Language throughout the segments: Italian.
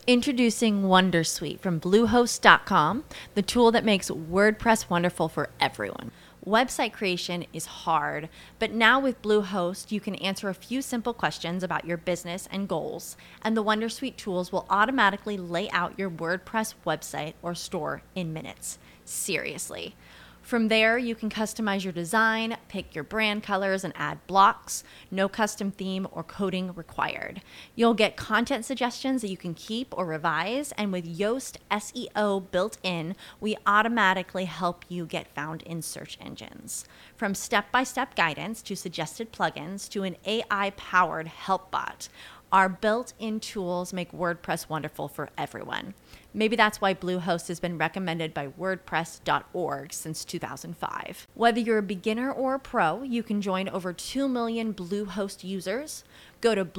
Introducing Wondersuite from Bluehost.com, the tool that makes WordPress wonderful for everyone. Website creation is hard, but now with Bluehost, you can answer a few simple questions about your business and goals, and the Wondersuite tools will automatically lay out your WordPress website or store in minutes. Seriously. From there, you can customize your design, pick your brand colors, and add blocks. No custom theme or coding required. You'll get content suggestions that you can keep or revise, and with Yoast SEO built in, we automatically help you get found in search engines. From step-by-step guidance to suggested plugins to an AI-powered help bot, our built-in tools make WordPress wonderful for everyone. Maybe that's why Bluehost has been recommended by WordPress.org since 2005. Whether you're a beginner or a pro, you can join over 2 million Bluehost users. Go to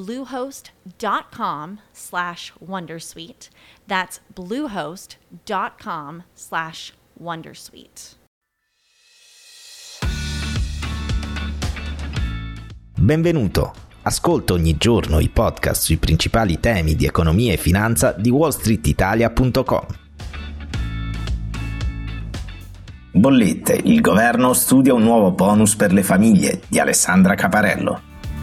bluehost.com/wondersuite. That's bluehost.com/wondersuite. Benvenuto! Ascolta ogni giorno i podcast sui principali temi di economia e finanza di wallstreetitalia.com. Bollette, il governo studia un nuovo bonus per le famiglie di Alessandra Caparello.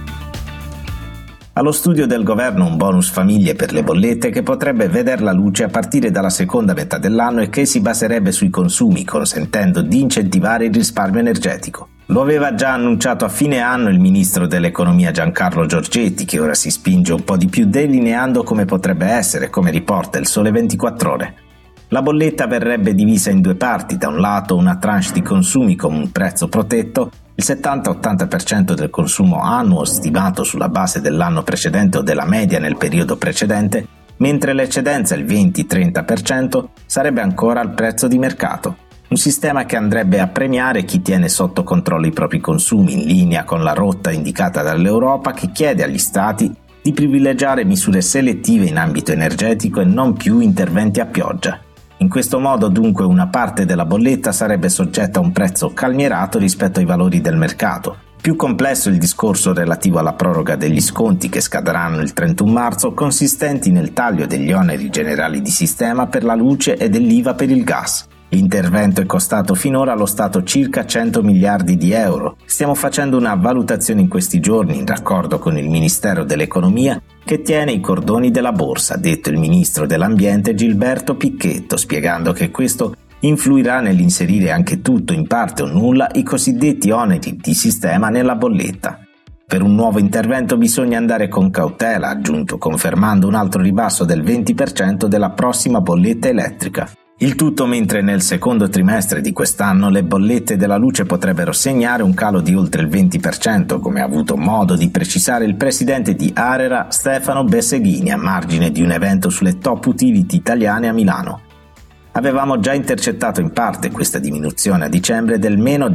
Allo studio del governo un bonus famiglie per le bollette che potrebbe veder la luce a partire dalla seconda metà dell'anno e che si baserebbe sui consumi, consentendo di incentivare il risparmio energetico. Lo aveva già annunciato a fine anno il ministro dell'economia Giancarlo Giorgetti, che ora si spinge un po' di più delineando come potrebbe essere, come riporta il Sole 24 Ore. La bolletta verrebbe divisa in due parti: da un lato una tranche di consumi con un prezzo protetto, il 70-80% del consumo annuo stimato sulla base dell'anno precedente o della media nel periodo precedente, mentre l'eccedenza, il 20-30%, sarebbe ancora al prezzo di mercato. Un sistema che andrebbe a premiare chi tiene sotto controllo i propri consumi, in linea con la rotta indicata dall'Europa, che chiede agli Stati di privilegiare misure selettive in ambito energetico e non più interventi a pioggia. In questo modo, dunque, una parte della bolletta sarebbe soggetta a un prezzo calmierato rispetto ai valori del mercato. Più complesso il discorso relativo alla proroga degli sconti che scadranno il 31 marzo, consistenti nel taglio degli oneri generali di sistema per la luce e dell'IVA per il gas. L'intervento è costato finora allo Stato circa 100 miliardi di euro. Stiamo facendo una valutazione in questi giorni in raccordo con il Ministero dell'Economia che tiene i cordoni della borsa, ha detto il Ministro dell'Ambiente Gilberto Picchetto, spiegando che questo influirà nell'inserire anche tutto, in parte o nulla, i cosiddetti oneri di sistema nella bolletta. Per un nuovo intervento bisogna andare con cautela, ha aggiunto, confermando un altro ribasso del 20% della prossima bolletta elettrica. Il tutto mentre nel secondo trimestre di quest'anno le bollette della luce potrebbero segnare un calo di oltre il 20%, come ha avuto modo di precisare il presidente di ARERA Stefano Besseghini a margine di un evento sulle top utility italiane a Milano. Avevamo già intercettato in parte questa diminuzione a dicembre del meno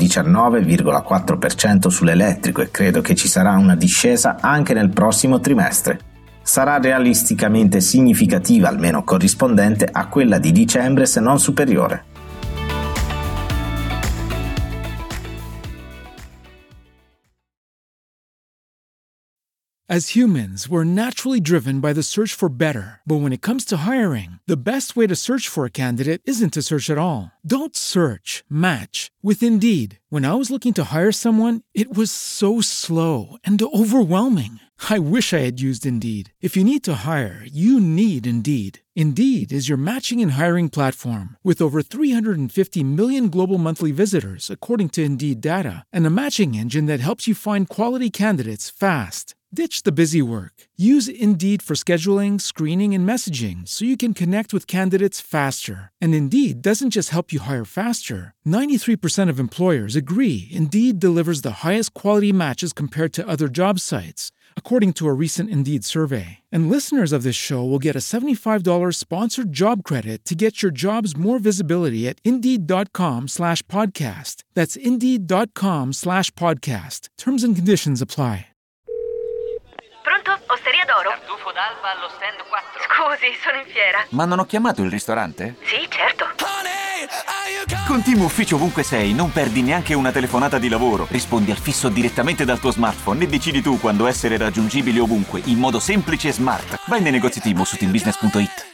19,4% sull'elettrico e credo che ci sarà una discesa anche nel prossimo trimestre. Sarà realisticamente significativa, almeno corrispondente a quella di dicembre, se non superiore. As humans, we're naturally driven by the search for better. But when it comes to hiring, the best way to search for a candidate isn't to search at all. Don't search, match with Indeed. When I was looking to hire someone, it was so slow and overwhelming. I wish I had used Indeed. If you need to hire, you need Indeed. Indeed is your matching and hiring platform with over 350 million global monthly visitors, according to Indeed data, and a matching engine that helps you find quality candidates fast. Ditch the busy work. Use Indeed for scheduling, screening, and messaging so you can connect with candidates faster. And Indeed doesn't just help you hire faster. 93% of employers agree Indeed delivers the highest quality matches compared to other job sites, according to a recent Indeed survey. And listeners of this show will get a $75 sponsored job credit to get your jobs more visibility at Indeed.com/podcast. That's Indeed.com/podcast. Terms and conditions apply. Pronto? Osteria d'Oro? Tartufo d'alba allo stand 4. Scusi, sono in fiera. Ma non ho chiamato il ristorante? Sì, certo. Con Team Ufficio ovunque sei, non perdi neanche una telefonata di lavoro. Rispondi al fisso direttamente dal tuo smartphone e decidi tu quando essere raggiungibile ovunque, in modo semplice e smart. Vai nei negozi Team o su teambusiness.it.